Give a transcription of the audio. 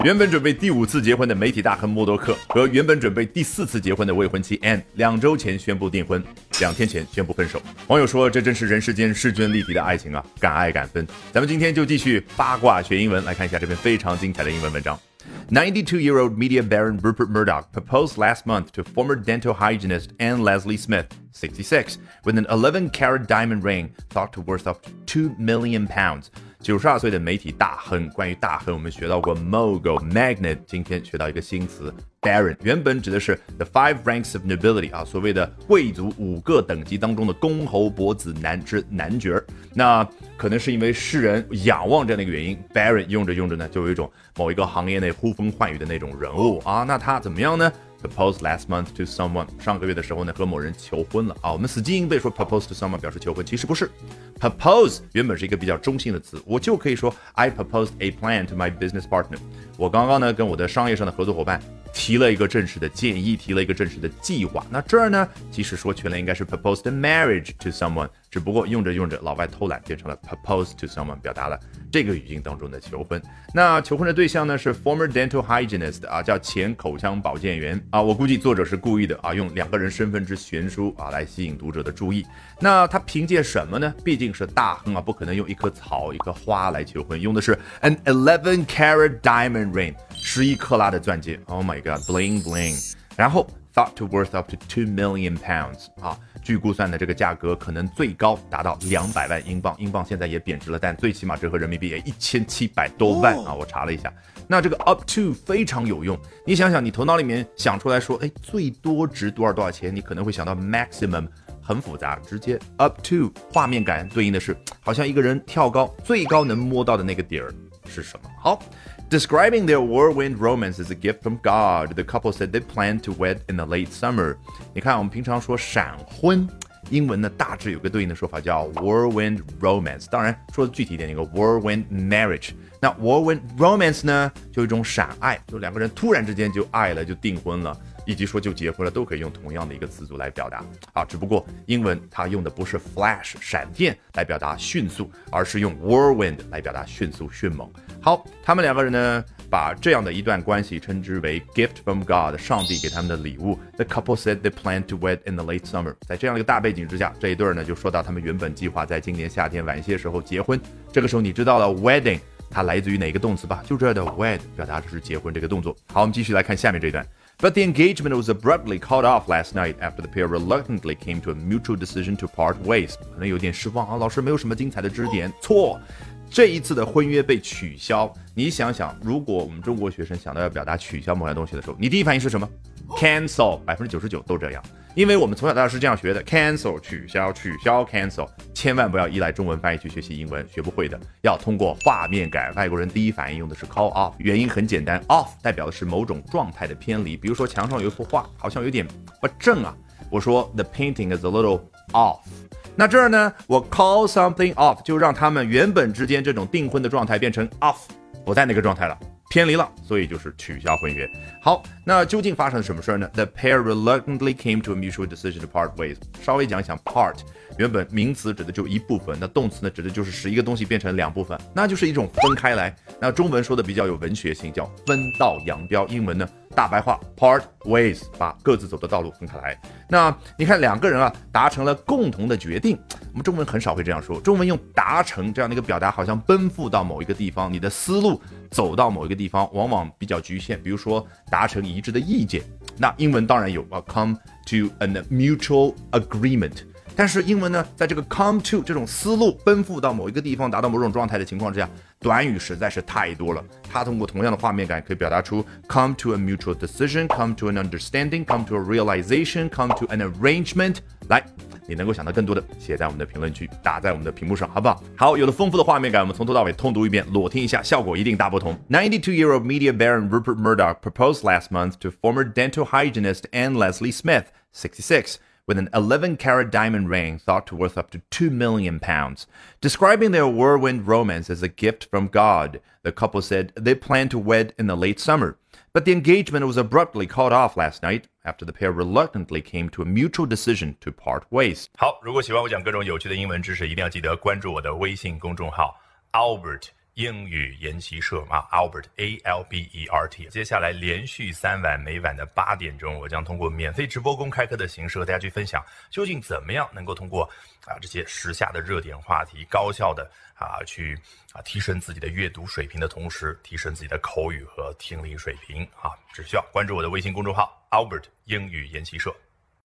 原本准备第5次结婚的媒体大亨默多克和原本准备第4次结婚的未婚妻 Anne 2周前宣布订婚，2天前宣布分手。网友说这真是人世间势均力敌的爱情啊，敢爱敢分。咱们今天就继续八卦学英文，来看一下这篇非常精彩的英文文章。92-year-old media baron Rupert Murdoch proposed last month to former dental hygienist Anne Leslie Smith, 66, with an 11-carat diamond ring thought to worth up to £2 million. 92岁的媒体大亨，关于大亨我们学到过 mogul、magnate， 今天学到一个新词 baron， 原本指的是 the 5 ranks of nobility 啊，所谓的贵族5个等级当中的公侯伯子男之男爵。那可能是因为世人仰望这样的一个原因 ，baron 用着用着呢，就有一种某一个行业内呼风唤雨的那种人物啊。那他怎么样呢？Proposed last month to someone， 上个月的时候呢，和某人求婚了啊。我们死记硬背说 propose to someone 表示求婚，其实不是。Propose 原本是一个比较中性的词，我就可以说 I proposed a plan to my business partner。我刚刚呢跟我的商业上的合作伙伴提了一个正式的建议，提了一个正式的计划。那这儿呢，其实说全了应该是 proposed marriage to someone， 只不过用着用着老外偷懒变成了 propose to someone， 表达了这个语境当中的求婚。那求婚的对象呢是 former dental hygienist 啊，叫前口腔保健员啊。我估计作者是故意的啊，用2个人身份之悬殊啊来吸引读者的注意。那他凭借什么呢？毕竟是大亨啊，不可能用一棵草一棵花来求婚，用的是 an 11-carat diamond ring， 11克拉的钻戒。Oh my god， bling bling。然后 thought to worth up to £2 million 啊，据估算的这个价格可能最高达到200万英镑，英镑现在也贬值了，但最起码折合人民币也1700多万啊，我查了一下。那这个 up to 非常有用，你想想，你头脑里面想出来说，哎，最多值多少钱，你可能会想到 maximum， 很复杂，直接 up to 画面感对应的是，好像一个人跳高，最高能摸到的那个点儿是什么？好。Describing their whirlwind romance as a gift from God, the couple said they planned to wed in the late summer. 你看，我们平常说闪婚，英文呢大致有个对应的说法叫 whirlwind romance。当然，说的具体一点，那个 whirlwind marriage。那 whirlwind romance 呢，就一种闪爱，就2个人突然之间就爱了，就订婚了。以及说就结婚了，都可以用同样的一个词组来表达啊，只不过英文它用的不是 flash 闪电来表达迅速，而是用 whirlwind 来表达迅速迅猛。好，他们2个人呢，把这样的一段关系称之为 gift from God， 上帝给他们的礼物。The couple said they planned to wed in the late summer。在这样的一个大背景之下，这一对呢就说到他们原本计划在今年夏天晚些时候结婚。这个时候你知道了 wedding 它来自于哪个动词吧？就这儿的 wed 表达的是结婚这个动作。好，我们继续来看下面这一段。But the engagement was abruptly called off last night after the pair reluctantly came to a mutual decision to part ways. 可能有点失望啊，老师没有什么精彩的知识点。错，这一次的婚约被取消。你想想，如果我们中国学生想到要表达取消某样东西的时候，你第一反应是什么 ？Cancel， 99%都这样。因为我们从小到大是这样学的 ，cancel 取消，取消 cancel， 千万不要依赖中文翻译去学习英文，学不会的。要通过画面感。外国人第一反应用的是 call off， 原因很简单 ，off 代表的是某种状态的偏离。比如说墙上有一幅画，好像有点不正啊，我说 the painting is a little off。那这儿呢，我 call something off 就让他们原本之间这种订婚的状态变成 off， 不在那个状态了。偏离了，所以就是取消婚约。好，那究竟发生了什么事呢？ The pair reluctantly came to a mutual decision to part ways。 稍微讲一讲 part， 原本名词指的就一部分，那动词呢指的就是使一个东西变成2部分，那就是一种分开来。那中文说的比较有文学性，叫分道扬镳。英文呢大白话 part ways， 把各自走的道路分开来。那你看2个人啊达成了共同的决定，我们中文很少会这样说，中文用达成这样的一个表达，好像奔赴到某一个地方，你的思路走到某一个地方，往往比较局限。比如说达成一致的意见，那英文当然有come to a mutual agreement。但是英文呢，在这个 come to 这种思路奔赴到某一个地方，达到某种状态的情况之下，短语实在是太多了。它通过同样的画面感，可以表达出 come to a mutual decision， come to an understanding， come to a realization， come to an arrangement。来，你能够想到更多的，写在我们的评论区，打在我们的屏幕上，好不好？好，有了丰富的画面感，我们从头到尾通读一遍，裸听一下，效果一定大不同。92-year-old media baron Rupert Murdoch proposed last month to former dental hygienist Anne Leslie Smith, 66. With an 11-carat diamond ring thought to worth up to £2 million. Describing their whirlwind romance as a gift from God, the couple said they planned to wed in the late summer. But the engagement was abruptly called off last night after the pair reluctantly came to a mutual decision to part ways. 好，如果喜欢我讲各种有趣的英文知识，一定要记得关注我的微信公众号 Albert 英语研习社啊 ，Albert ALBERT。接下来连续3晚，每晚的8点钟，我将通过免费直播公开课的形式和大家去分享，究竟怎么样能够通过这些时下的热点话题，高效的去提升自己的阅读水平的同时，提升自己的口语和听力水平啊，只需要关注我的微信公众号 Albert 英语研习社。